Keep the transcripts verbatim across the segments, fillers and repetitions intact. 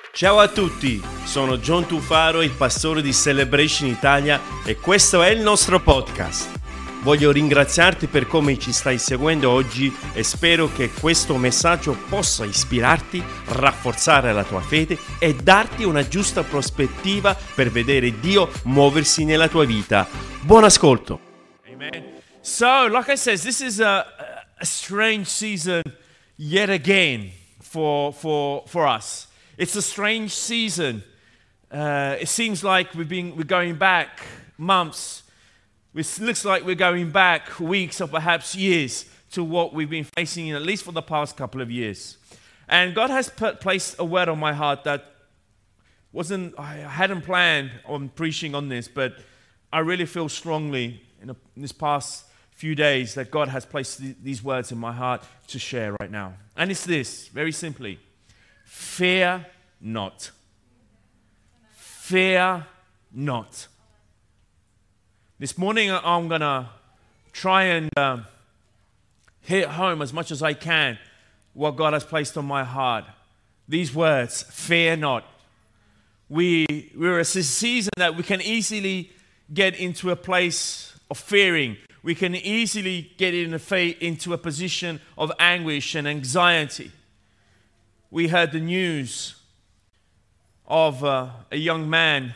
Ciao a tutti, sono John Tufaro, il pastore di Celebration Italia e questo è il nostro podcast. Voglio ringraziarti per come ci stai seguendo oggi e spero che questo messaggio possa ispirarti, rafforzare la tua fede e darti una giusta prospettiva per vedere Dio muoversi nella tua vita. Buon ascolto. Amen. So, like I said, this is a, a strange season yet again for, for, for us. It's a strange season. Uh, it seems like we've been, we're going back months. It looks like we're going back weeks or perhaps years to what we've been facing in at least for the past couple of years. And God has put, placed a word on my heart that wasn't, I hadn't planned on preaching on this, but I really feel strongly in, a, in this past few days that God has placed th- these words in my heart to share right now. And it's this, very simply. Fear not. Fear not. This morning I'm going to try and uh, hit home as much as I can what God has placed on my heart. These words, fear not. We, we're a season that we can easily get into a place of fearing. We can easily get in a fa- into a position of anguish and anxiety. We heard the news of uh, a young man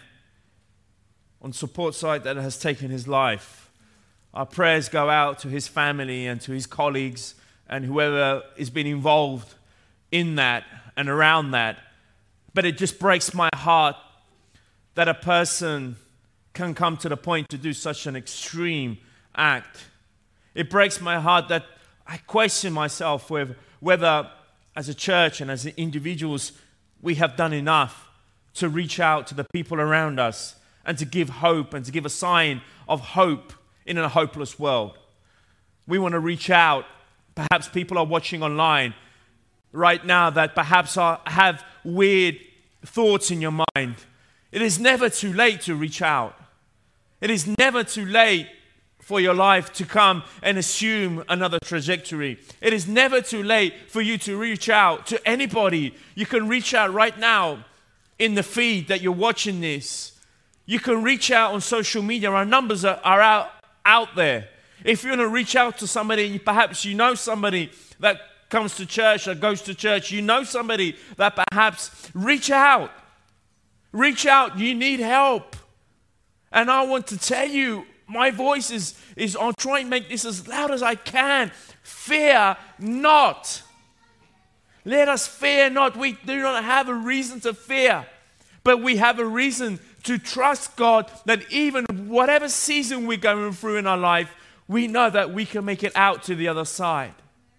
on support site that has taken his life. Our prayers go out to his family and to his colleagues and whoever has been involved in that and around that. But it just breaks my heart that a person can come to the point to do such an extreme act. It breaks my heart that I question myself with whether as a church and as individuals we have done enough to reach out to the people around us and to give hope and to give a sign of hope in a hopeless world. We want to reach out. Perhaps people are watching online right now that perhaps are, have weird thoughts in your mind. It is never too late to reach out. It is never too late for your life to come and assume another trajectory. It is never too late for you to reach out to anybody. You can reach out right now in the feed that you're watching this. You can reach out on social media. Our numbers are, are out, out there. If you want to reach out to somebody, perhaps you know somebody that comes to church, that goes to church, you know somebody that perhaps reach out. Reach out. You need help. And I want to tell you, my voice is, is I'll try and make this as loud as I can. Fear not. Let us fear not. We do not have a reason to fear, but we have a reason to trust God that even whatever season we're going through in our life, we know that we can make it out to the other side.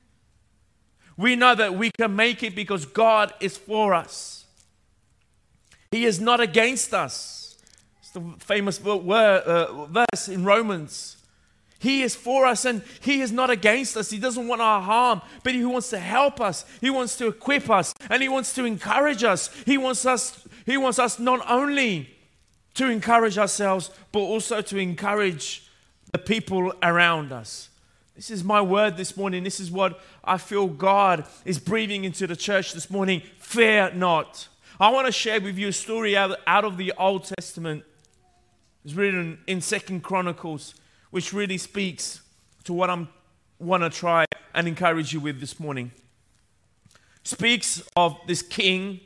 We know that we can make it because God is for us. He is not against us. The famous word, uh, verse in Romans. He is for us and He is not against us. He doesn't want our harm, but He wants to help us. He wants to equip us and He wants to encourage us. He wants us, He wants us not only to encourage ourselves, but also to encourage the people around us. This is my word this morning. This is what I feel God is breathing into the church this morning. Fear not. I want to share with you a story out, out of the Old Testament. It's written in Second Chronicles, which really speaks to what I want to try and encourage you with this morning. Speaks of this king,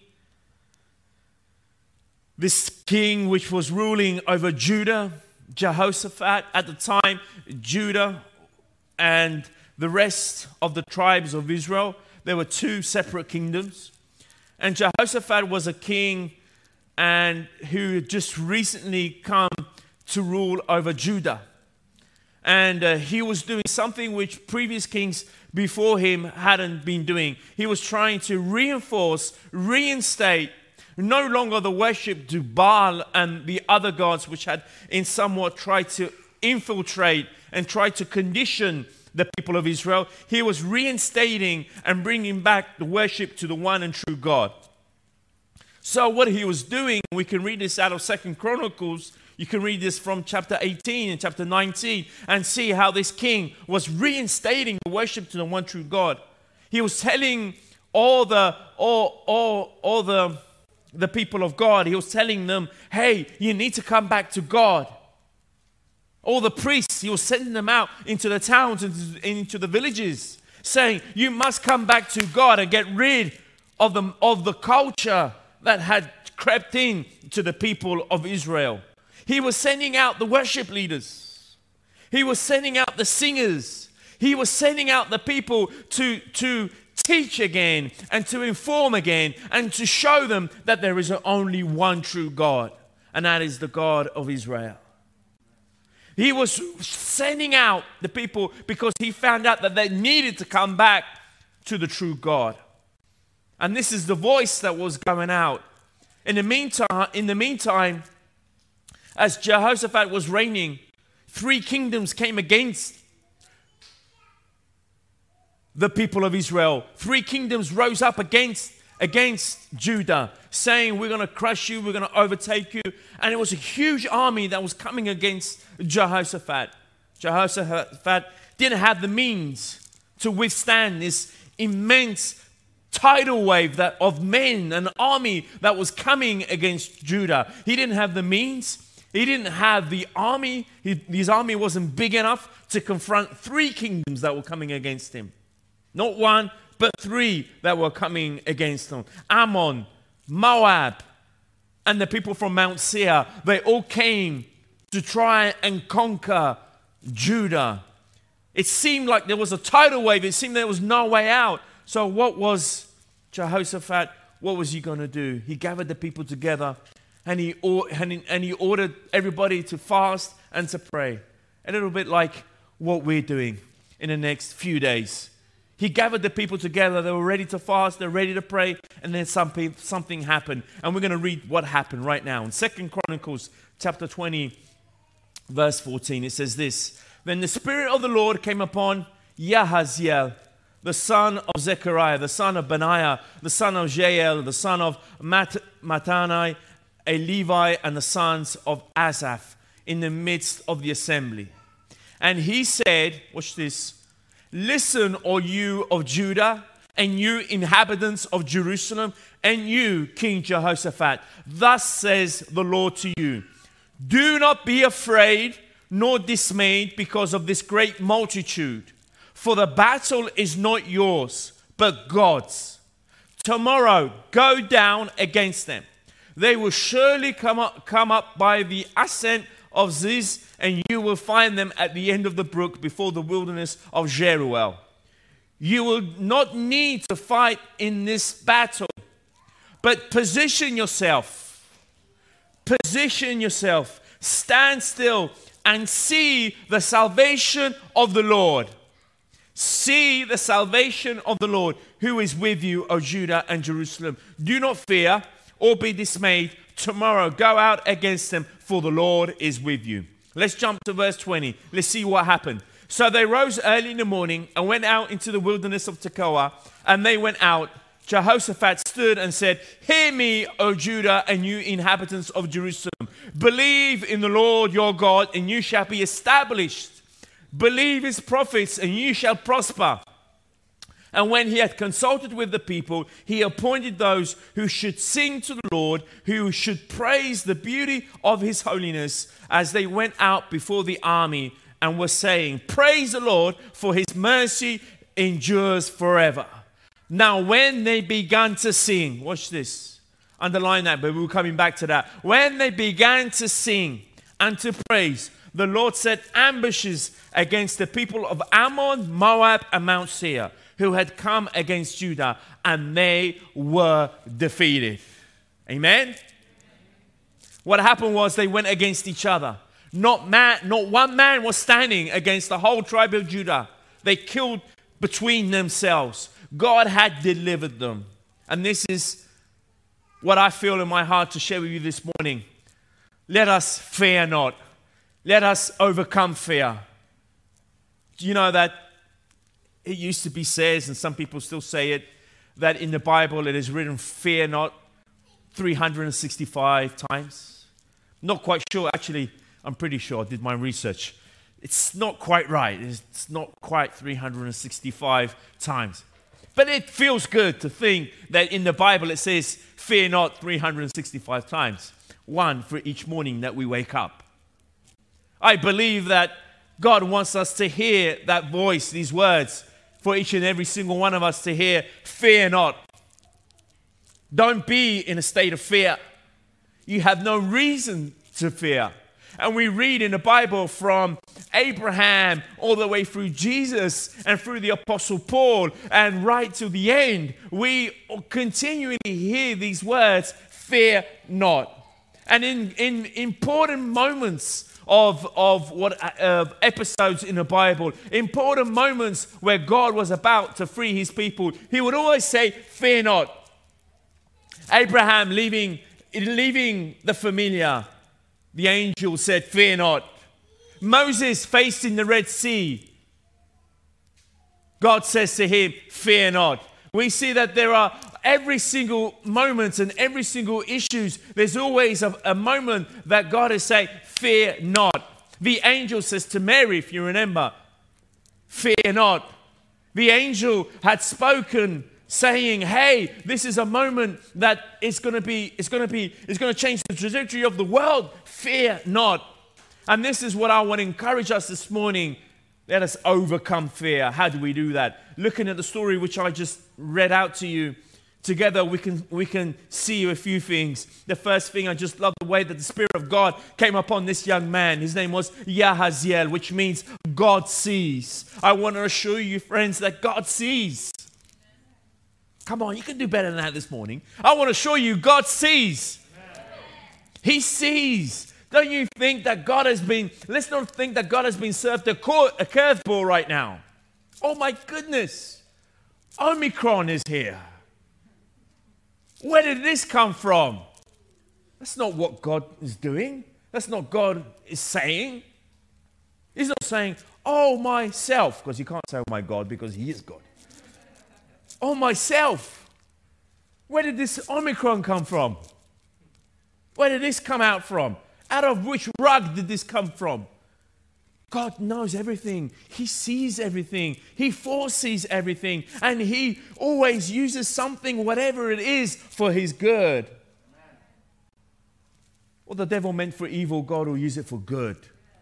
this king which was ruling over Judah, Jehoshaphat at the time, Judah and the rest of the tribes of Israel. There were two separate kingdoms. And Jehoshaphat was a king and who had just recently come to rule over Judah. And uh, he was doing something which previous kings before him hadn't been doing. He was trying to reinforce, reinstate, no longer the worship to Baal and the other gods which had in somewhat tried to infiltrate and try to condition the people of Israel. He was reinstating and bringing back the worship to the one and true God. So what he was doing, we can read this out of Second Chronicles. You can read this from chapter eighteen and chapter nineteen and see how this king was reinstating the worship to the one true God. He was telling all the all all all the the people of God. He was telling them, hey, you need to come back to God. All the priests, he was sending them out into the towns and into the villages, saying, you must come back to God and get rid of the, of the culture that had crept in to the people of Israel. He was sending out the worship leaders. He was sending out the singers. He was sending out the people to, to teach again and to inform again and to show them that there is only one true God, and that is the God of Israel. He was sending out the people because he found out that they needed to come back to the true God. And this is the voice that was going out. In the meantime, in the meantime, as Jehoshaphat was reigning, three kingdoms came against the people of Israel. Three kingdoms rose up against, against Judah, saying, we're going to crush you, we're going to overtake you. And it was a huge army that was coming against Jehoshaphat. Jehoshaphat didn't have the means to withstand this immense tidal wave that of men, an army that was coming against Judah. He didn't have the means. He didn't have the army. He, his army wasn't big enough to confront three kingdoms that were coming against him. Not one, but three that were coming against him. Ammon, Moab, and the people from Mount Seir. They all came to try and conquer Judah. It seemed like there was a tidal wave. It seemed there was no way out. So what was Jehoshaphat, what was he going to do? He gathered the people together and he, and he ordered everybody to fast and to pray. A little bit like what we're doing in the next few days. He gathered the people together. They were ready to fast. They're ready to pray. And then something, something happened. And we're going to read what happened right now. In Second Chronicles chapter twenty, verse fourteen, it says this. Then the Spirit of the Lord came upon Yahaziel, the son of Zechariah, the son of Benaiah, the son of Jael, the son of Mat- Mattanai, a Levi, and the sons of Asaph in the midst of the assembly. And he said, watch this, listen, all you of Judah, and you inhabitants of Jerusalem, and you, King Jehoshaphat, thus says the Lord to you, do not be afraid nor dismayed because of this great multitude, for the battle is not yours, but God's. Tomorrow go down against them. They will surely come up, come up by the ascent of Ziz, and you will find them at the end of the brook before the wilderness of Jeruel. You will not need to fight in this battle, but position yourself. Position yourself. Stand still and see the salvation of the Lord. See the salvation of the Lord who is with you, O Judah and Jerusalem. Do not fear or be dismayed. Tomorrow go out against them, for the Lord is with you. Let's jump to verse twenty. Let's see what happened. So they rose early in the morning and went out into the wilderness of Tekoa, and they went out. Jehoshaphat stood and said, hear me, O Judah, and you inhabitants of Jerusalem. Believe in the Lord your God, and you shall be established. Believe his prophets, and you shall prosper. And when he had consulted with the people, he appointed those who should sing to the Lord, who should praise the beauty of his holiness, as they went out before the army and were saying, praise the Lord, for his mercy endures forever. Now when they began to sing, watch this, underline that, but we're coming back to that. When they began to sing and to praise, the Lord set ambushes against the people of Ammon, Moab, and Mount Seir, who had come against Judah, and they were defeated. Amen? What happened was they went against each other. Not man, not one man was standing against the whole tribe of Judah. They killed between themselves. God had delivered them. And this is what I feel in my heart to share with you this morning. Let us fear not. Let us overcome fear. Do you know that it used to be said, and some people still say it, that in the Bible it is written, fear not, three hundred sixty-five times? Not quite sure. Actually, I'm pretty sure. I did my research. It's not quite right. It's not quite three hundred sixty-five times. But it feels good to think that in the Bible it says, fear not three hundred sixty-five times, one for each morning that we wake up. I believe that God wants us to hear that voice, these words, for each and every single one of us to hear, fear not. Don't be in a state of fear. You have no reason to fear. And we read in the Bible from Abraham all the way through Jesus and through the Apostle Paul and right to the end, we continually hear these words, fear not. And in, in important moments of, of what uh, episodes in the Bible, important moments where God was about to free his people, he would always say, fear not. Abraham leaving, leaving the familiar, the angel said, fear not. Moses facing the Red Sea, God says to him, fear not. We see that there are every single moment and every single issues, there's always a, a moment that God is saying, fear not. The angel says to Mary, if you remember, fear not. The angel had spoken saying, hey, this is a moment that it's going to be, it's going to be, it's going to change the trajectory of the world. Fear not. And this is what I want to encourage us this morning. Let us overcome fear. How do we do that? Looking at the story which I just read out to you, together we can we can see a few things. The first thing, I just love the way that the Spirit of God came upon this young man. His name was Yahaziel, which means God sees. I want to assure you, friends, that God sees. Come on, you can do better than that this morning. I want to show you God sees. He sees. Don't you think that God has been, let's not think that God has been served a, cor- a curveball right now. Oh my goodness. Omicron is here. Where did this come from? That's not what God is doing. That's not God is saying. He's not saying, oh myself, because you can't say, oh my God, because he is God. Oh myself. Where did this Omicron come from? Where did this come out from? Out of which rug did this come from? God knows everything. He sees everything. He foresees everything. And he always uses something, whatever it is, for his good. What the devil meant for evil, God will use it for good.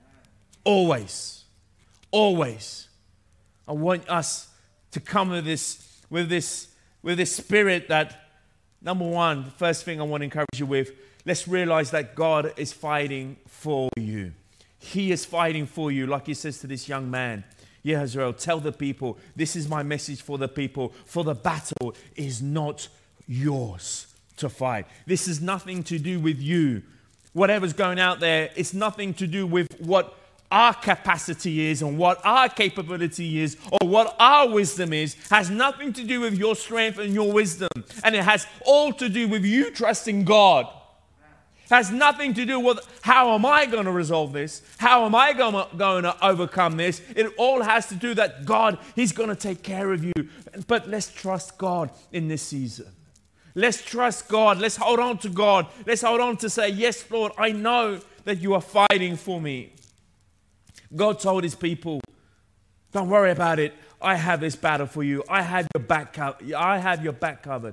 Always. Always. I want us to come with this, with this, with this spirit that, number one, the first thing I want to encourage you with, let's realize that God is fighting for you. He is fighting for you, like he says to this young man. Yahazrael, tell the people, this is my message for the people, for the battle is not yours to fight. This is nothing to do with you. Whatever's going out there, it's nothing to do with what our capacity is and what our capability is or what our wisdom is. Has nothing to do with your strength and your wisdom. And it has all to do with you trusting God. Has nothing to do with how am I going to resolve this? How am I going to, going to overcome this? It all has to do that God, he's going to take care of you. But let's trust God in this season. Let's trust God. Let's hold on to God. Let's hold on to say, yes, Lord, I know that you are fighting for me. God told his people, don't worry about it. I have this battle for you. I have your back covered. I have your back covered.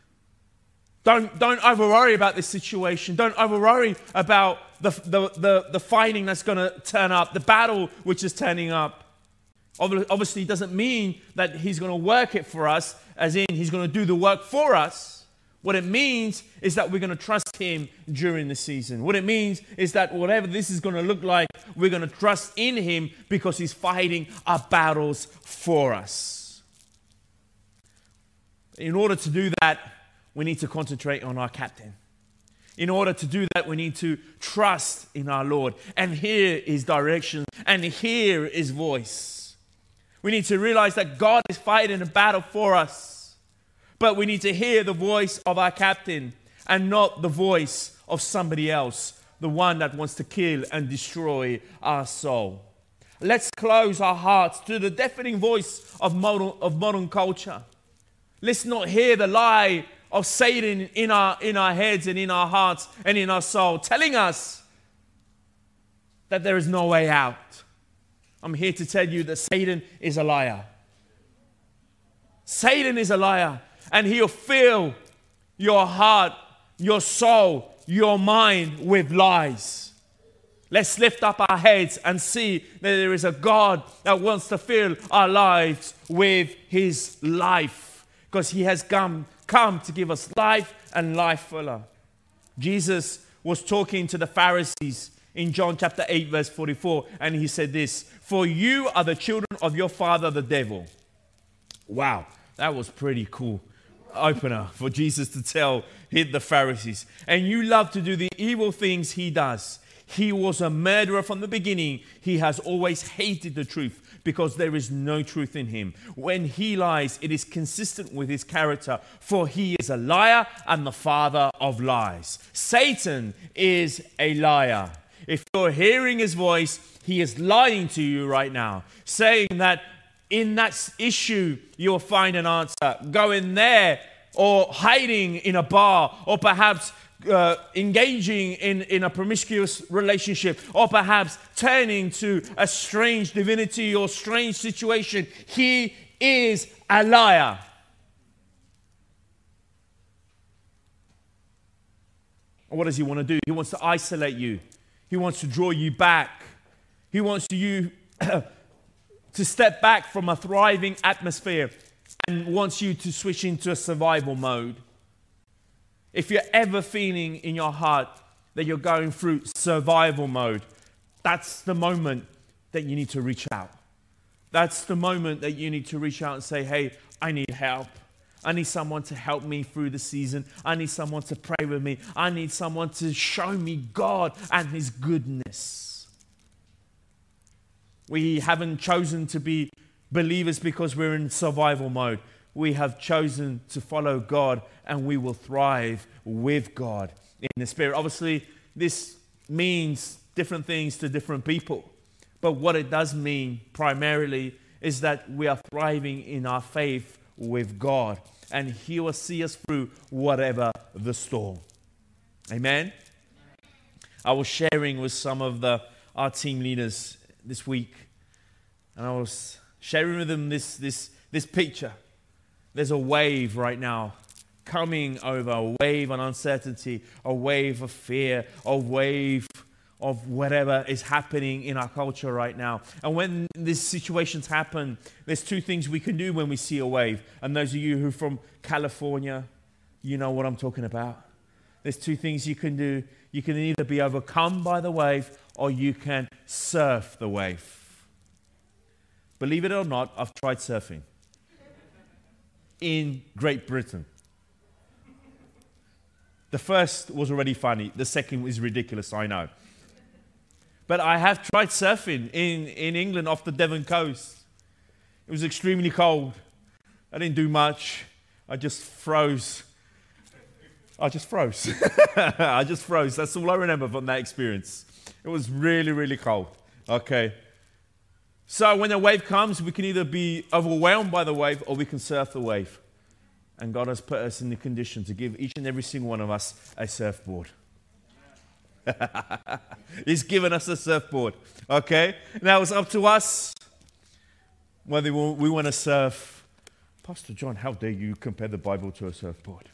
Don't, don't over worry about this situation. Don't over worry about the, the, the, the fighting that's going to turn up, the battle which is turning up. Obviously, it doesn't mean that he's going to work it for us, as in he's going to do the work for us. What it means is that we're going to trust him during the season. What it means is that whatever this is going to look like, we're going to trust in him because he's fighting our battles for us. In order to do that, we need to concentrate on our captain. In order to do that, we need to trust in our Lord and hear his direction and hear his voice. We need to realize that God is fighting a battle for us, but we need to hear the voice of our captain and not the voice of somebody else, the one that wants to kill and destroy our soul. Let's close our hearts to the deafening voice of modern, of modern culture. Let's not hear the lie of Satan in our, in our heads and in our hearts and in our soul, telling us that there is no way out. I'm here to tell you that Satan is a liar. Satan is a liar, and he'll fill your heart, your soul, your mind with lies. Let's lift up our heads and see that there is a God that wants to fill our lives with his life, because he has come, come to give us life and life fuller. Jesus was talking to the Pharisees in John chapter eight, verse forty-four, and he said this, "For you are the children of your father, the devil." Wow, that was pretty cool opener for Jesus to tell the Pharisees. "And you love to do the evil things he does. He was a murderer from the beginning. He has always hated the truth because there is no truth in him. When he lies, it is consistent with his character, for he is a liar and the father of lies." Satan is a liar. If you're hearing his voice, he is lying to you right now, saying that in that issue you'll find an answer. Go in there, or hiding in a bar, or perhaps Uh, engaging in, in a promiscuous relationship, or perhaps turning to a strange divinity or strange situation. He is a liar. What does he want to do? He wants to isolate you. He wants to draw you back. He wants you to step back from a thriving atmosphere and wants you to switch into a survival mode. If you're ever feeling in your heart that you're going through survival mode, that's the moment that you need to reach out. That's the moment that you need to reach out and say, "Hey, I need help. I need someone to help me through the season. I need someone to pray with me. I need someone to show me God and his goodness." We haven't chosen to be believers because we're in survival mode. We have chosen to follow God, and we will thrive with God in the Spirit. Obviously, this means different things to different people. But what it does mean primarily is that we are thriving in our faith with God, and he will see us through whatever the storm. Amen? I was sharing with some of the our team leaders this week, and I was sharing with them this, this, this picture. There's a wave right now coming over, a wave of uncertainty, a wave of fear, a wave of whatever is happening in our culture right now. And when these situations happen, there's two things we can do when we see a wave. And those of you who are from California, you know what I'm talking about. There's two things you can do. You can either be overcome by the wave, or you can surf the wave. Believe it or not, I've tried surfing in Great Britain. The first was already funny. The second was ridiculous, I know. But I have tried surfing in, in England off the Devon coast. It was extremely cold. I didn't do much. I just froze. I just froze. I just froze. That's all I remember from that experience. It was really, really cold. Okay. So when a wave comes, we can either be overwhelmed by the wave, or we can surf the wave. And God has put us in the condition to give each and every single one of us a surfboard. He's given us a surfboard. Okay? Now it's up to us whether we want to surf. Pastor John, how dare you compare the Bible to a surfboard?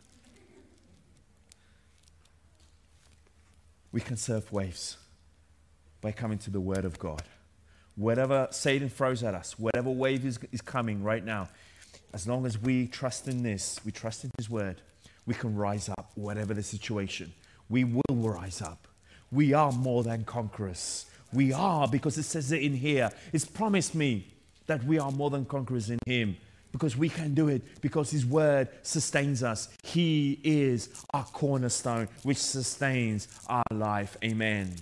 We can surf waves by coming to the Word of God. Whatever Satan throws at us, whatever wave is, is coming right now, as long as we trust in this, we trust in his word, we can rise up, whatever the situation. We will rise up. We are more than conquerors. We are, because it says it in here. It's promised me that we are more than conquerors in him, because we can do it, because his word sustains us. He is our cornerstone, which sustains our life. Amen.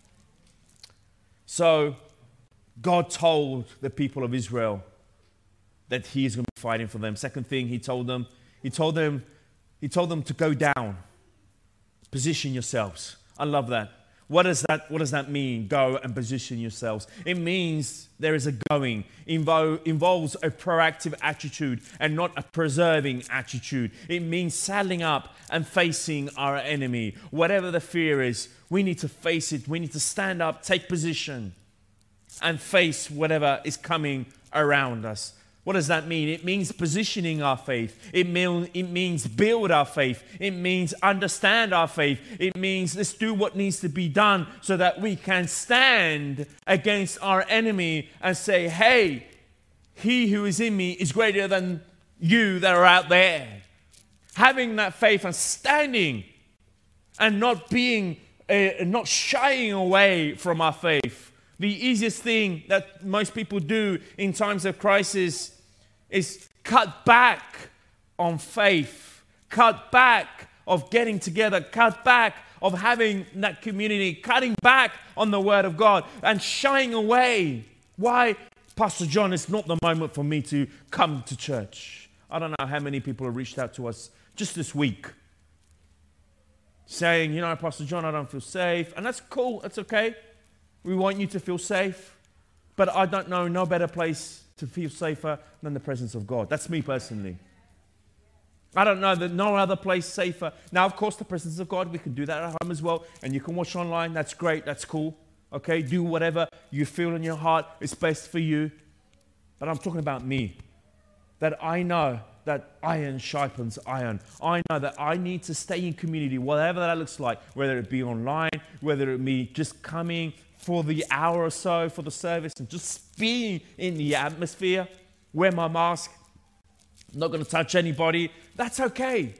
So, God told the people of Israel that he is going to be fighting for them. Second thing he told them, he told them, he told them to go down. Position yourselves. I love that. What does that, what does that mean? Go and position yourselves. It means there is a going. Invo- involves a proactive attitude and not a preserving attitude. It means saddling up and facing our enemy. Whatever the fear is, we need to face it. We need to stand up, take position, and face whatever is coming around us. What does that mean? It means positioning our faith. It, mean, it means build our faith. It means understand our faith. It means let's do what needs to be done so that we can stand against our enemy and say, hey, he who is in me is greater than you that are out there. Having that faith and standing and not being, uh, not shying away from our faith. The easiest thing that most people do in times of crisis is cut back on faith, cut back of getting together, cut back of having that community, cutting back on the Word of God and shying away. Why? Pastor John, it's not the moment for me to come to church. I don't know how many people have reached out to us just this week saying, you know, Pastor John, I don't feel safe. And that's cool. That's okay. We want you to feel safe. But I don't know no better place to feel safer than the presence of God. That's me personally. I don't know that no other place safer. Now, of course, the presence of God, we can do that at home as well. And you can watch online. That's great. That's cool. Okay, do whatever you feel in your heart is best for you. But I'm talking about me. That I know that iron sharpens iron. I know that I need to stay in community, whatever that looks like, whether it be online, whether it be just coming for the hour or so for the service and just being in the atmosphere, wear my mask, I'm not going to touch anybody. That's okay.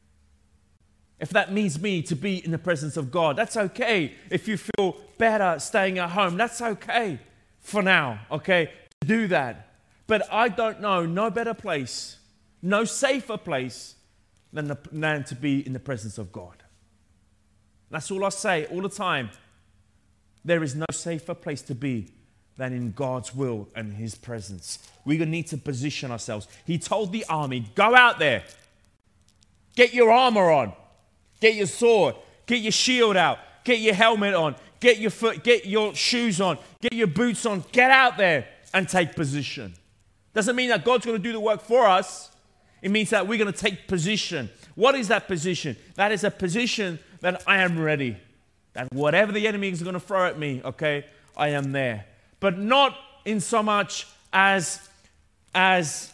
If that means me to be in the presence of God, that's okay. If you feel better staying at home, that's okay for now, okay, to do that. But I don't know no better place, no safer place than, the, than to be in the presence of God. That's all I say all the time. There is no safer place to be than in God's will and His presence. We're going to need to position ourselves. He told the army, go out there, get your armor on. Get your sword, get your shield out, get your helmet on, get your foot, get your shoes on, get your boots on, get out there and take position. Doesn't mean that God's going to do the work for us. It means that we're going to take position. What is that position? That is a position that I am ready. That whatever the enemy is going to throw at me, okay, I am there. But not in so much as, as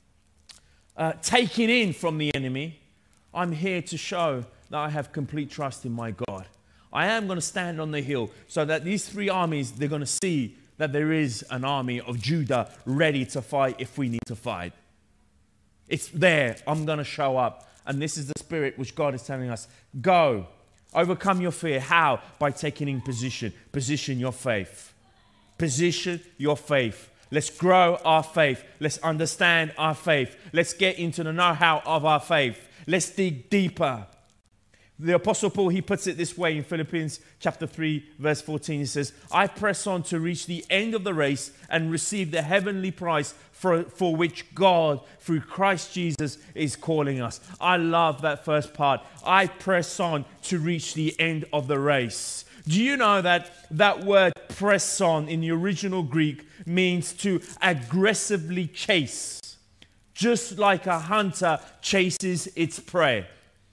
uh, taking in from the enemy. I'm here to show that I have complete trust in my God. I am going to stand on the hill so that these three armies, they're going to see that there is an army of Judah ready to fight if we need to fight. It's there. I'm going to show up. And this is the spirit which God is telling us. Go. Overcome your fear. How? By taking in position. Position your faith. Position your faith. Let's grow our faith. Let's understand our faith. Let's get into the know-how of our faith. Let's dig deeper. The Apostle Paul, he puts it this way in Philippians chapter three, verse fourteen. He says, I press on to reach the end of the race and receive the heavenly prize for, for which God, through Christ Jesus, is calling us. I love that first part. I press on to reach the end of the race. Do you know that that word press on in the original Greek means to aggressively chase, just like a hunter chases its prey?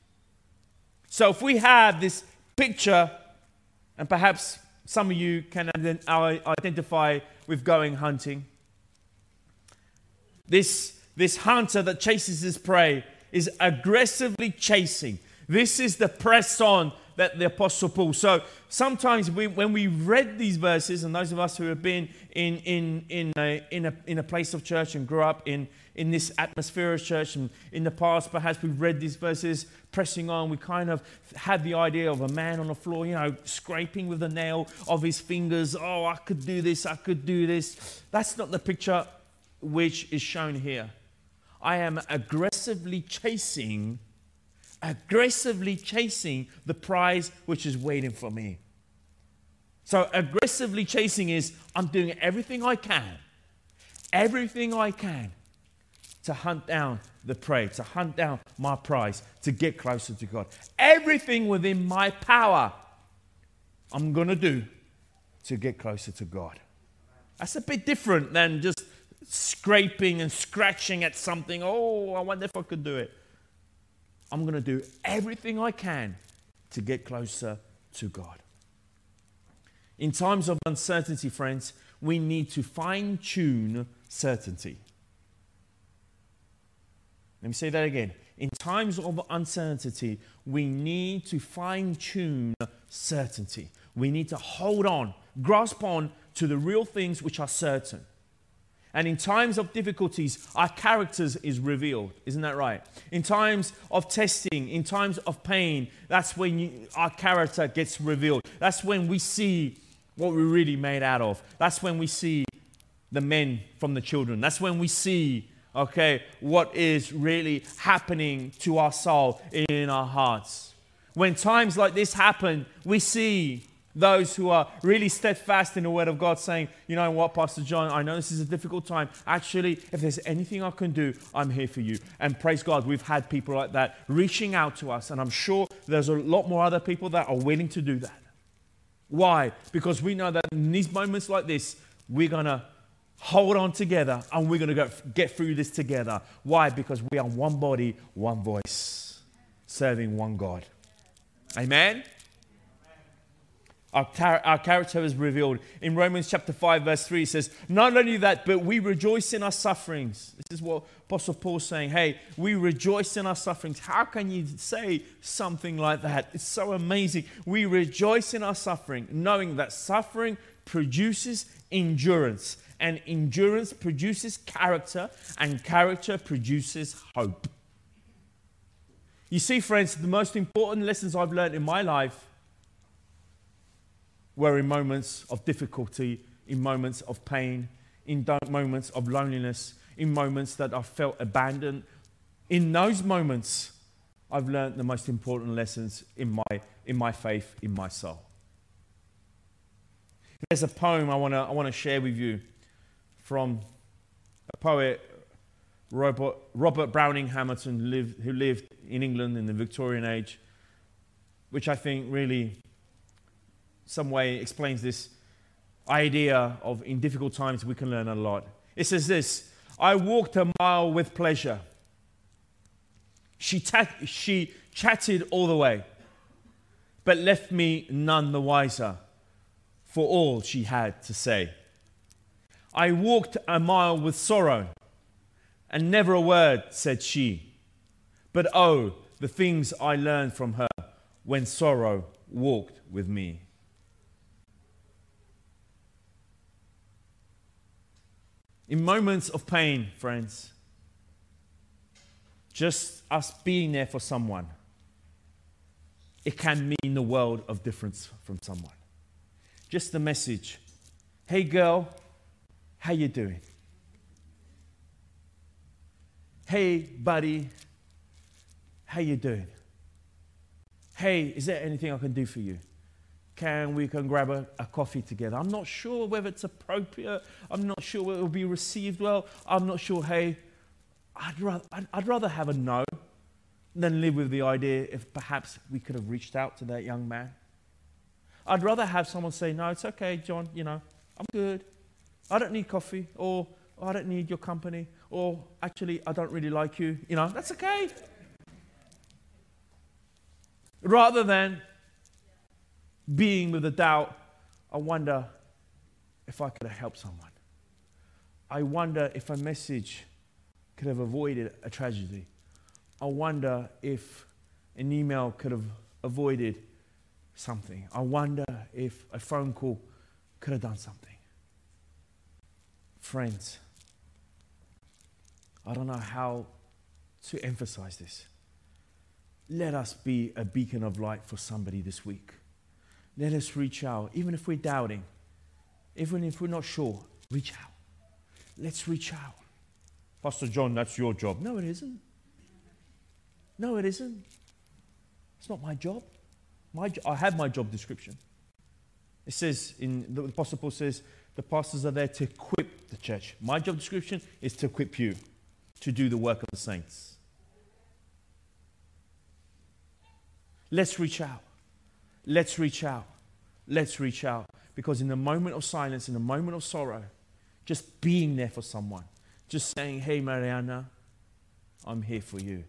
So if we have this picture, and perhaps some of you can identify with going hunting, this, this hunter that chases his prey is aggressively chasing. This is the press on that the Apostle Paul. So sometimes we, when we read these verses, and those of us who have been in, in, in, a, in, a, in a place of church and grew up in, in this atmosphere of church, and in the past perhaps we've read these verses, pressing on, we kind of had the idea of a man on the floor, you know, scraping with the nail of his fingers. Oh, I could do this, I could do this. That's not the picture which is shown here. I am aggressively chasing, aggressively chasing the prize which is waiting for me. So aggressively chasing is I'm doing everything I can, everything I can to hunt down the prey, to hunt down my prize, to get closer to God. Everything within my power, I'm going to do to get closer to God. That's a bit different than just scraping and scratching at something. Oh, I wonder if I could do it. I'm going to do everything I can to get closer to God. In times of uncertainty, friends, we need to fine-tune certainty. Let me say that again. In times of uncertainty, we need to fine-tune certainty. We need to hold on, grasp on to the real things which are certain. And in times of difficulties, our characters is revealed. Isn't that right? In times of testing, in times of pain, that's when you, our character gets revealed. That's when we see what we're really made out of. That's when we see the men from the children. That's when we see, okay, what is really happening to our soul in our hearts. When times like this happen, we see those who are really steadfast in the Word of God saying, you know what, Pastor John, I know this is a difficult time. Actually, if there's anything I can do, I'm here for you. And praise God, we've had people like that reaching out to us. And I'm sure there's a lot more other people that are willing to do that. Why? Because we know that in these moments like this, we're going to hold on together and we're going to go get through this together. Why? Because we are one body, one voice, serving one God. Amen? Our, tar- our character is revealed. In Romans chapter five, verse three, it says, not only that, but we rejoice in our sufferings. This is what Apostle Paul's saying. Hey, we rejoice in our sufferings. How can you say something like that? It's so amazing. We rejoice in our suffering, knowing that suffering produces endurance. And endurance produces character, and character produces hope. You see, friends, the most important lessons I've learned in my life were in moments of difficulty, in moments of pain, in moments of loneliness, in moments that I felt abandoned. In those moments, I've learned the most important lessons in my, in my faith, in my soul. There's a poem I want to I want to share with you from a poet, Robert, Robert Browning Hamilton, who lived, who lived in England in the Victorian age, which I think really some way explains this idea of in difficult times we can learn a lot. It says this: I walked a mile with pleasure. She, ta- she chatted all the way, but left me none the wiser for all she had to say. I walked a mile with sorrow, and never a word said she. But oh, the things I learned from her when sorrow walked with me. In moments of pain, friends, just us being there for someone, it can mean the world of difference from someone. Just the message, hey girl, how you doing? Hey buddy, how you doing? Hey, is there anything I can do for you? Can we can grab a, a coffee together? I'm not sure whether it's appropriate. I'm not sure whether it will be received well. I'm not sure. Hey, I'd rather, I'd, I'd rather have a no than live with the idea if perhaps we could have reached out to that young man. I'd rather have someone say, no, it's okay, John, you know, I'm good. I don't need coffee, or oh, I don't need your company, or actually, I don't really like you. You know, that's okay. Rather than being with the doubt, I wonder if I could have helped someone. I wonder if a message could have avoided a tragedy. I wonder if an email could have avoided something. I wonder if a phone call could have done something. Friends, I don't know how to emphasize this. Let us be a beacon of light for somebody this week. Let us reach out, even if we're doubting, even if we're not sure, reach out. Let's reach out. Pastor John, that's your job. No, it isn't. No, it isn't. It's not my job. My jo- I have my job description. It says, in the Apostle Paul says, the pastors are there to equip the church. My job description is to equip you to do the work of the saints. Let's reach out. Let's reach out. Let's reach out. Because in the moment of silence, in the moment of sorrow, just being there for someone, just saying, hey, Mariana, I'm here for you.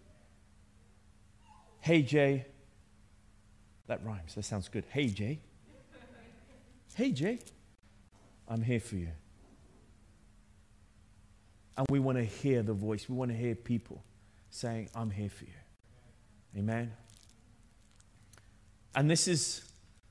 Hey, Jay. That rhymes. That sounds good. Hey, Jay. Hey, Jay. I'm here for you. And we want to hear the voice. We want to hear people saying, I'm here for you. Amen. And this is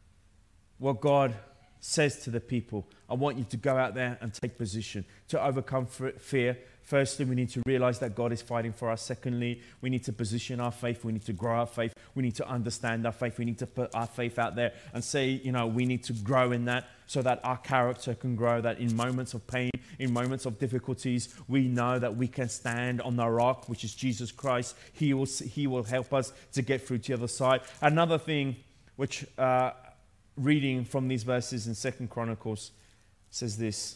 what God says to the people. I want you to go out there and take position to overcome fear. Firstly, we need to realize that God is fighting for us. Secondly, we need to position our faith. We need to grow our faith. We need to understand our faith. We need to put our faith out there and say, you know, we need to grow in that so that our character can grow, that in moments of pain, in moments of difficulties, we know that we can stand on the rock, which is Jesus Christ. He will, he will help us to get through to the other side. Another thing which, uh, reading from these verses in Second Chronicles, says this.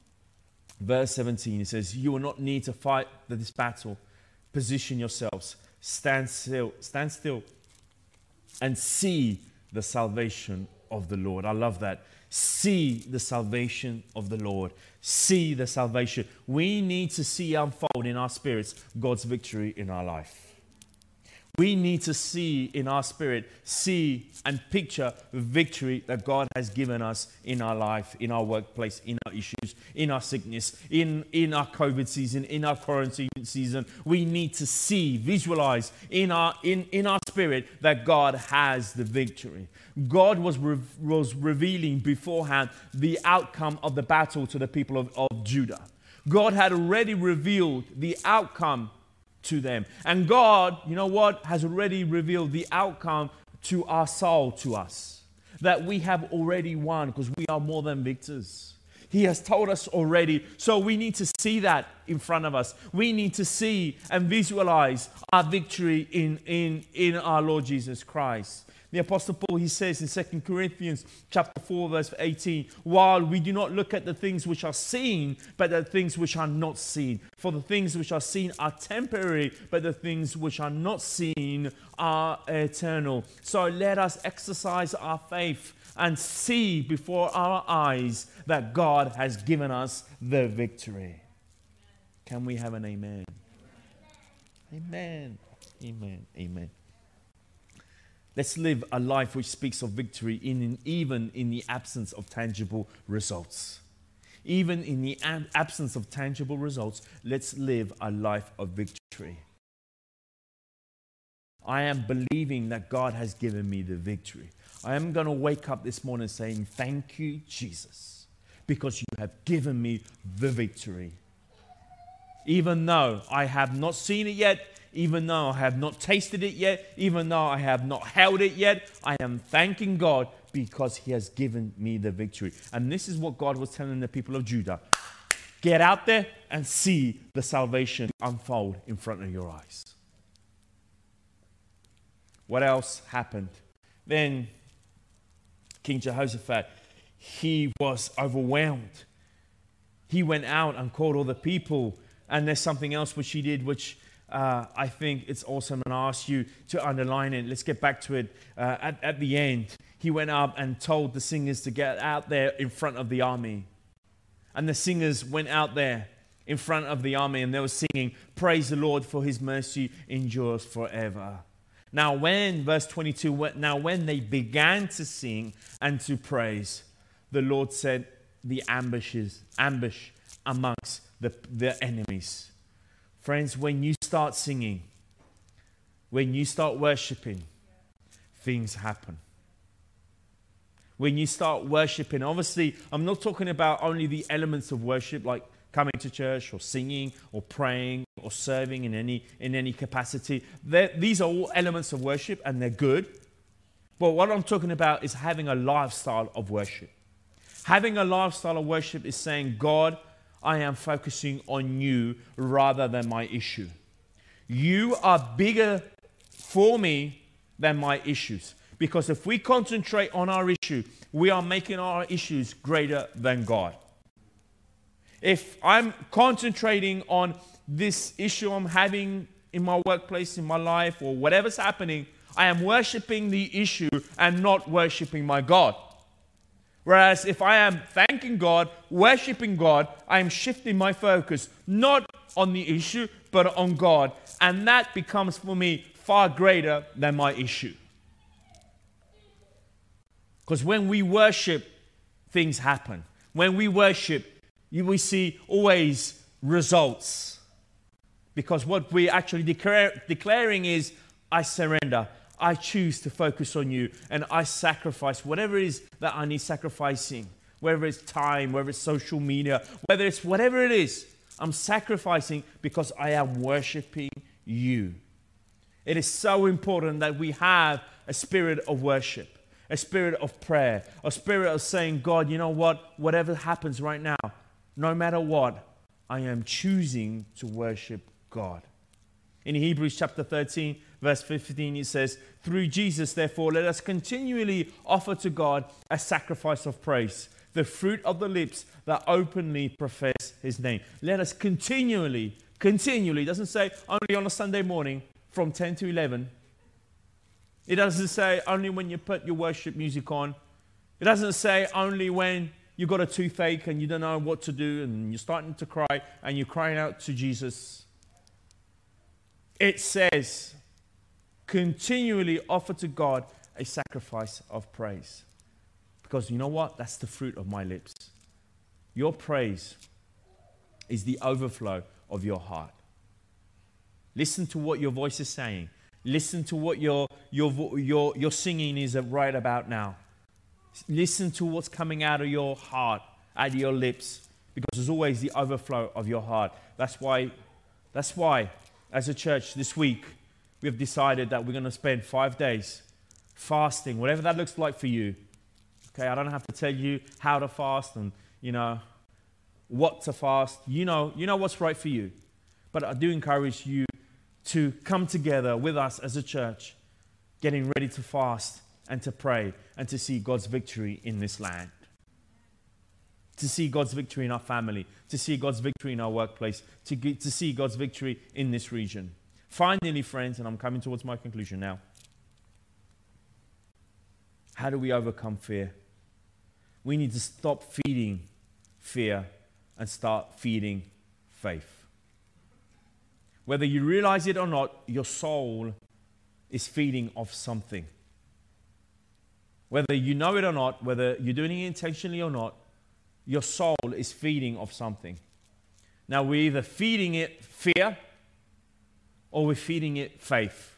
Verse seventeen, it says, you will not need to fight this battle. Position yourselves. Stand still, stand still and see the salvation of the Lord. I love that. See the salvation of the Lord. See the salvation. We need to see unfold in our spirits God's victory in our life. We need to see in our spirit, see and picture the victory that God has given us in our life, in our workplace, in our issues, in our sickness, in, in our COVID season, in our quarantine season. We need to see, visualize in our, in, in our spirit that God has the victory. God was, re- was revealing beforehand the outcome of the battle to the people of, of Judah. God had already revealed the outcome to them. And God, you know what, has already revealed the outcome to our soul, to us. That we have already won because we are more than victors. He has told us already. So we need to see that in front of us. We need to see and visualize our victory in, in, in our Lord Jesus Christ. The Apostle Paul, he says in Second Corinthians chapter four, verse eighteen, while we do not look at the things which are seen, but the things which are not seen. For the things which are seen are temporary, but the things which are not seen are eternal. So let us exercise our faith and see before our eyes that God has given us the victory. Can we have an amen? Amen. Amen. Amen. Let's live a life which speaks of victory in, even in the absence of tangible results. Even in the ab- absence of tangible results, let's live a life of victory. I am believing that God has given me the victory. I am going to wake up this morning saying, thank you, Jesus, because you have given me the victory. Even though I have not seen it yet, even though I have not tasted it yet, even though I have not held it yet, I am thanking God because He has given me the victory. And this is what God was telling the people of Judah. Get out there and see the salvation unfold in front of your eyes. What else happened? Then King Jehoshaphat, he was overwhelmed. He went out and called all the people. And there's something else which he did, which uh, I think it's awesome, and I ask you to underline it. Let's get back to it. Uh, at, at the end, he went up and told the singers to get out there in front of the army. And the singers went out there in front of the army, and they were singing, praise the Lord, for His mercy endures forever. Now when, verse twenty-two, now when they began to sing and to praise, the Lord said the ambushes, ambush amongst the, the enemies. Friends, when you start singing, when you start worshiping, things happen. When you start worshiping, obviously, I'm not talking about only the elements of worship, like coming to church or singing or praying or serving in any in any capacity. They're, these are all elements of worship, and they're good. But what I'm talking about is having a lifestyle of worship. Having a lifestyle of worship is saying, God, I am focusing on you rather than my issue. You are bigger for me than my issues. Because if we concentrate on our issue, we are making our issues greater than God. If I'm concentrating on this issue I'm having in my workplace, in my life, or whatever's happening, I am worshiping the issue and not worshiping my God. Whereas if I am thanking God, worshiping God, I am shifting my focus not on the issue, but on God. And that becomes for me far greater than my issue. Because when we worship, things happen. When we worship, we see always results. Because what we're actually declare, declaring is, I surrender. I choose to focus on you, and I sacrifice whatever it is that I need sacrificing, whether it's time, whether it's social media, whether it's whatever it is. I'm sacrificing because I am worshiping you. It is so important that we have a spirit of worship, a spirit of prayer, a spirit of saying, God, you know what? Whatever happens right now, no matter what, I am choosing to worship God. In Hebrews chapter thirteen, verse fifteen, it says, through Jesus, therefore, let us continually offer to God a sacrifice of praise, the fruit of the lips that openly profess his name. Let us continually, continually, it doesn't say only on a Sunday morning from ten to eleven. It doesn't say only when you put your worship music on. It doesn't say only when you've got a toothache and you don't know what to do and you're starting to cry and you're crying out to Jesus. It says, continually offer to God a sacrifice of praise. Because you know what? That's the fruit of my lips. Your praise is the overflow of your heart. Listen to what your voice is saying. Listen to what your, your, your, your singing is right about now. Listen to what's coming out of your heart, out of your lips. Because there's always the overflow of your heart. That's why, that's why, as a church this week, we've decided that we're going to spend five days fasting, whatever that looks like for you. Okay, I don't have to tell you how to fast and, you know, what to fast. You know, you know what's right for you. But I do encourage you to come together with us as a church, getting ready to fast and to pray and to see God's victory in this land. To see God's victory in our family, to see God's victory in our workplace, to, get, to see God's victory in this region. Finally, friends, and I'm coming towards my conclusion now. How do we overcome fear? We need to stop feeding fear and start feeding faith. Whether you realize it or not, your soul is feeding off something. Whether you know it or not, whether you're doing it intentionally or not, your soul is feeding off something. Now, we're either feeding it fear or we're feeding it faith.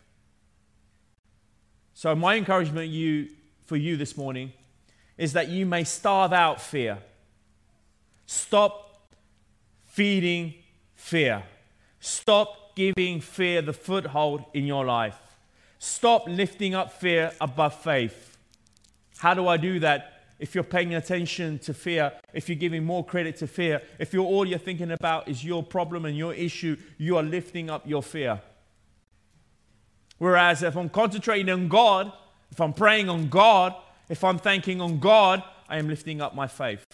So my encouragement you, for you this morning is that you may starve out fear. Stop feeding fear. Stop giving fear the foothold in your life. Stop lifting up fear above faith. How do I do that? If you're paying attention to fear, if you're giving more credit to fear, if you're all you're thinking about is your problem and your issue, you are lifting up your fear. Whereas if I'm concentrating on God, if I'm praying on God, if I'm thanking on God, I am lifting up my faith.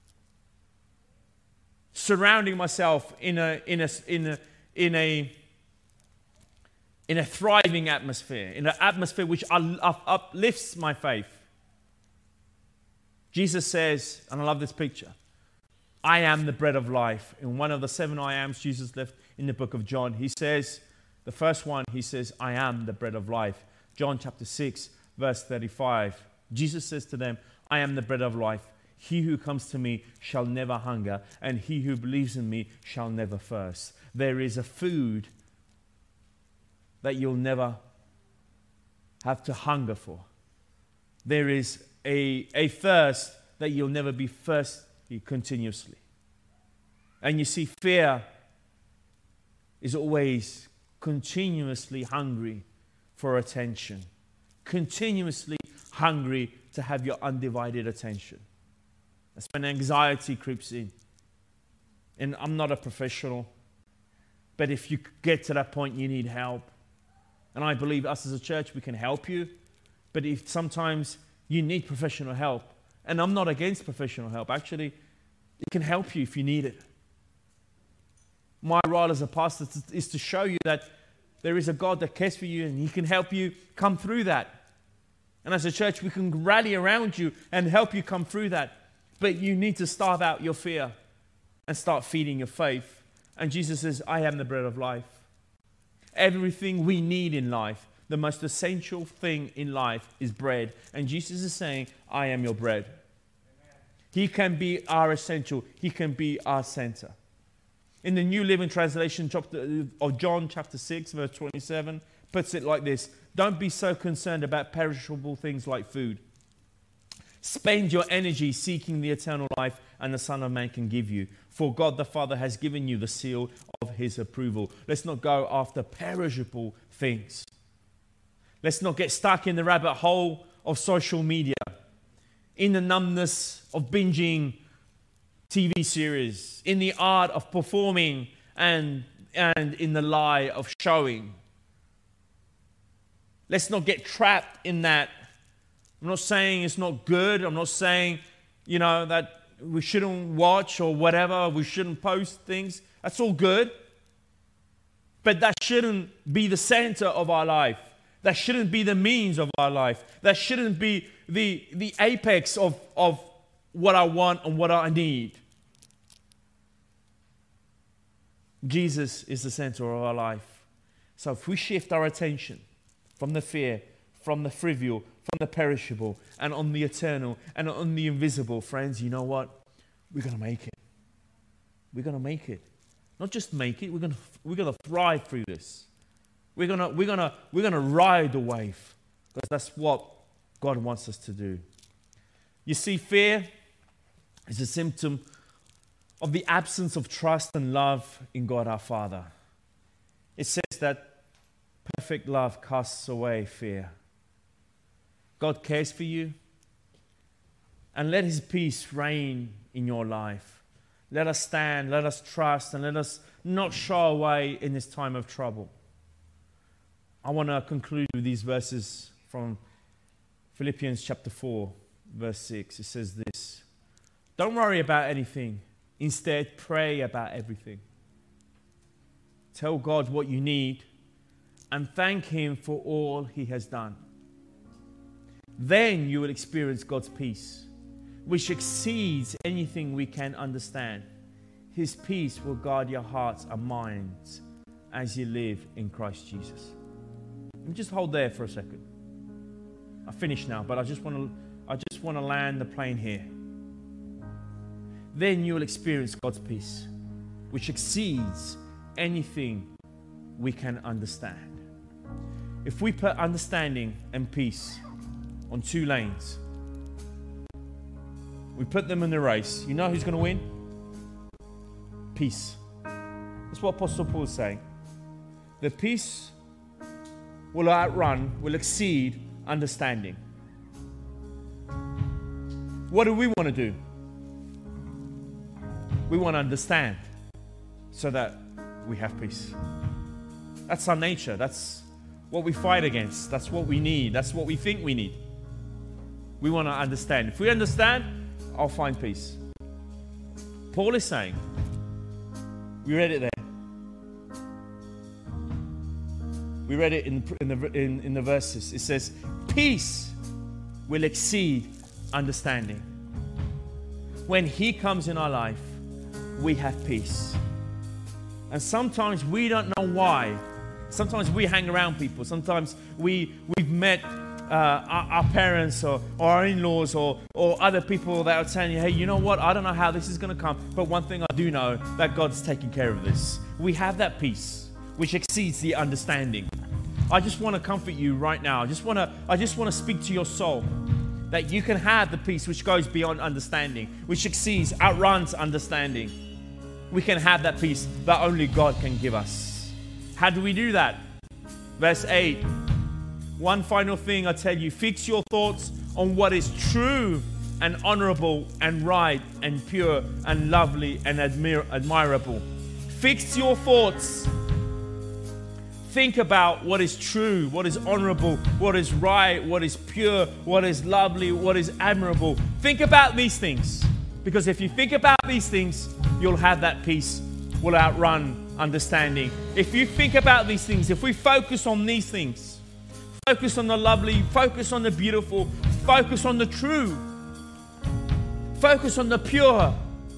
Surrounding myself in a in a in a in a in a thriving atmosphere, in an atmosphere which uplifts my faith. Jesus says, and I love this picture, I am the bread of life. In one of the seven I ams Jesus left in the book of John, he says, the first one, he says, I am the bread of life. John chapter six, verse thirty-five. Jesus says to them, I am the bread of life. He who comes to me shall never hunger, and he who believes in me shall never thirst. There is a food that you'll never have to hunger for. There is a, a thirst that you'll never be thirsty continuously. And you see, fear is always continuously hungry for attention, continuously hungry to have your undivided attention. That's when anxiety creeps in. And I'm not a professional, but if you get to that point, you need help. And I believe us as a church, we can help you. But if sometimes you need professional help, and I'm not against professional help, actually, it can help you if you need it. My role as a pastor is to show you that there is a God that cares for you and he can help you come through that. And as a church, we can rally around you and help you come through that. But you need to starve out your fear and start feeding your faith. And Jesus says, I am the bread of life. Everything we need in life, the most essential thing in life is bread. And Jesus is saying, I am your bread. Amen. He can be our essential. He can be our center. in the New Living Translation chapter of John chapter six, verse twenty-seven, puts it like this. Don't be so concerned about perishable things like food. Spend your energy seeking the eternal life and the Son of Man can give you. For God the Father has given you the seal of his approval. Let's not go after perishable things. Let's not get stuck in the rabbit hole of social media, in the numbness of binging T V series, in the art of performing, and, and in the lie of showing. Let's not get trapped in that. I'm not saying it's not good. I'm not saying, you know, that we shouldn't watch or whatever. We shouldn't post things. That's all good. But that shouldn't be the center of our life. That shouldn't be the means of our life. That shouldn't be the, the apex of, of what I want and what I need. Jesus is the center of our life. So if we shift our attention from the fear, from the trivial, from the perishable, and on the eternal, and on the invisible, friends, you know what? We're going to make it. We're going to make it. Not just make it, we're going to, we're going to thrive through this. We're going to, we're going to, we're going to ride the wave, because that's what God wants us to do. You see, fear is a symptom of the absence of trust and love in God our Father. It says that perfect love casts away fear. God cares for you, and let his peace reign in your life. Let us stand, let us trust, and let us not shy away in this time of trouble. I want to conclude with these verses from Philippians chapter four, verse six. It says this: don't worry about anything. Instead, pray about everything. Tell God what you need and thank him for all he has done. Then you will experience God's peace, which exceeds anything we can understand. His peace will guard your hearts and minds as you live in Christ Jesus. And just hold there for a second. I finished now, but I just want to I just want to land the plane here. Then you will experience God's peace, which exceeds anything we can understand. If we put understanding and peace on two lanes, we put them in the race, you know who's going to win? Peace. That's what Apostle Paul is saying. The peace will outrun, will exceed understanding. What do we want to do? We want to understand so that we have peace. That's our nature. That's what we fight against. That's what we need. That's what we think we need. We want to understand. If we understand, I'll find peace. Paul is saying, we read it there. We read it in, in, the, in, in the verses. It says, peace will exceed understanding. When he comes in our life, we have peace. And sometimes we don't know why. Sometimes we hang around people. Sometimes we, we've met uh, our, our parents or, or our in-laws or, or other people that are telling you, hey, you know what? I don't know how this is going to come. But one thing I do know, that God's taking care of this. We have that peace, which exceeds the understanding. I just want to comfort you right now. I just want to, I just want to speak to your soul that you can have the peace which goes beyond understanding, which exceeds, outruns understanding. We can have that peace that only God can give us. How do we do that? Verse eight. One final thing I tell you, fix your thoughts on what is true and honorable and right and pure and lovely and admir- admirable. Fix your thoughts. Think about what is true, what is honorable, what is right, what is pure, what is lovely, what is admirable. Think about these things. Because if you think about these things, you'll have that peace, will outrun understanding. If you think about these things, if we focus on these things, focus on the lovely, focus on the beautiful, focus on the true, focus on the pure,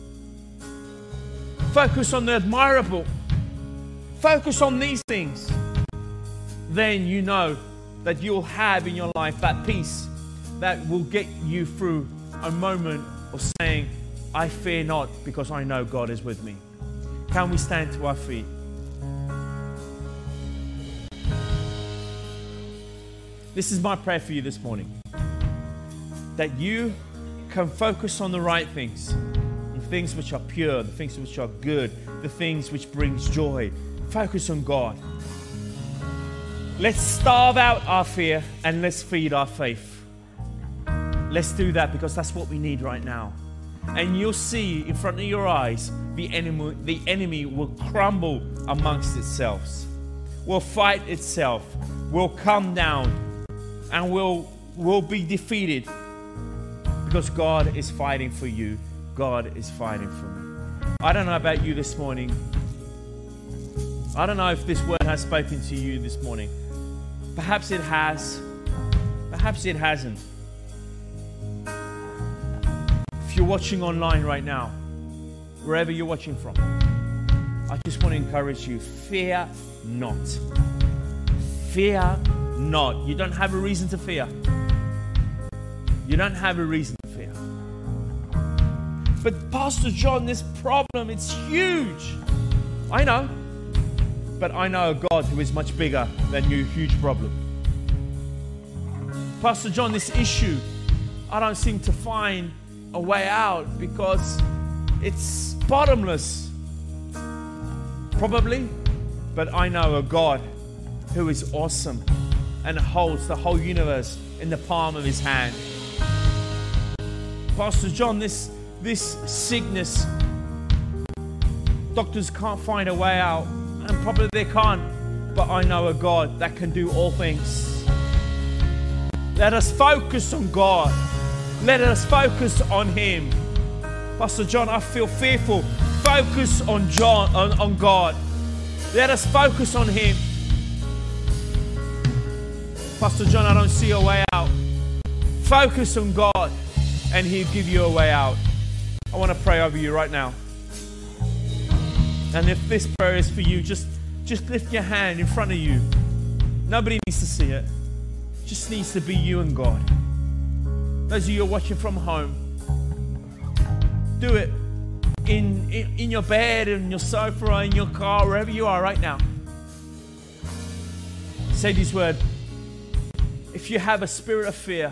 focus on the admirable, focus on these things, then you know that you'll have in your life that peace that will get you through a moment of saying, I fear not because I know God is with me. Can we stand to our feet? This is my prayer for you this morning. That you can focus on the right things. The things which are pure, the things which are good, the things which brings joy. Focus on God. Let's starve out our fear and let's feed our faith. Let's do that because that's what we need right now. And you'll see in front of your eyes, the enemy, the enemy will crumble amongst itself, will fight itself, will come down, and will, will be defeated because God is fighting for you. God is fighting for me. I don't know about you this morning. I don't know if this word has spoken to you this morning. Perhaps it has. Perhaps it hasn't. If you're watching online right now, wherever you're watching from, I just want to encourage you, fear not. Fear not. You don't have a reason to fear. You don't have a reason to fear. But Pastor John, this problem, it's huge. I know. But I know a God who is much bigger than your huge problem. Pastor John, this issue, I don't seem to find a way out because it's bottomless. Probably. But I know a God who is awesome and holds the whole universe in the palm of his hand. Pastor John, this, this sickness, doctors can't find a way out. And probably they can't, but I know a God that can do all things. Let us focus on God. Let us focus on Him. Pastor John, I feel fearful. Focus on John, on, on God. Let us focus on Him. Pastor John, I don't see a way out. Focus on God, and He'll give you a way out. I want to pray over you right now. And if this prayer is for you, just, just lift your hand in front of you. Nobody needs to see it. It just needs to be you and God. Those of you who are watching from home, do it in, in, in your bed, in your sofa, or in your car, wherever you are right now. Say these words. If you have a spirit of fear,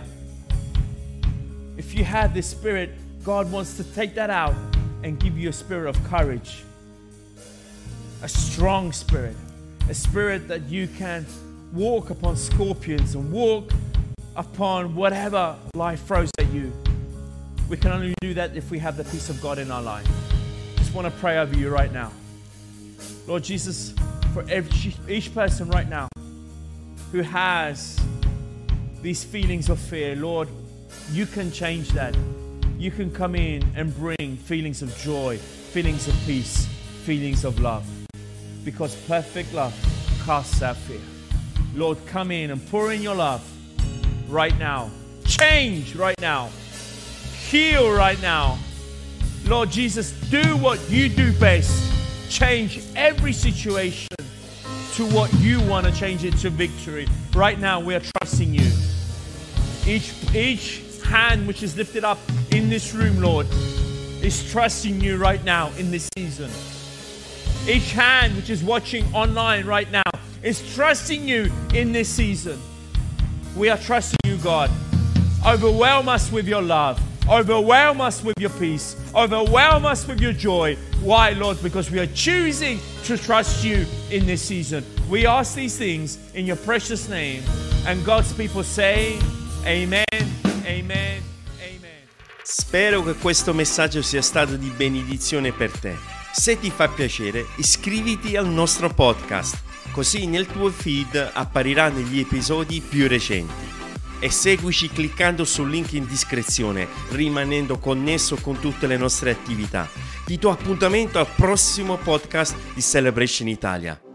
if you have this spirit, God wants to take that out and give you a spirit of courage. A strong spirit, a spirit that you can walk upon scorpions and walk upon whatever life throws at you. We can only do that if we have the peace of God in our life. Just want to pray over you right now. Lord Jesus, for every, each person right now who has these feelings of fear, Lord, you can change that. You can come in and bring feelings of joy, feelings of peace, feelings of love. Because perfect love casts out fear. Lord, come in and pour in your love right now. Change right now. Heal right now. Lord Jesus, do what you do best. Change every situation to what you want to change it to victory. Right now, we are trusting you. Each, each hand which is lifted up in this room, Lord, is trusting you right now in this season. Each hand which is watching online right now is trusting you in this season. We are trusting you, God. Overwhelm us with your love. Overwhelm us with your peace. Overwhelm us with your joy. Why, Lord? Because we are choosing to trust you in this season. We ask these things in your precious name. And God's people say, Amen, Amen, Amen. Spero che questo messaggio sia stato di benedizione per te. Se ti fa piacere, iscriviti al nostro podcast, così nel tuo feed appariranno gli episodi più recenti. E seguici cliccando sul link in descrizione, rimanendo connesso con tutte le nostre attività. Ti do appuntamento al prossimo podcast di Celebration Italia.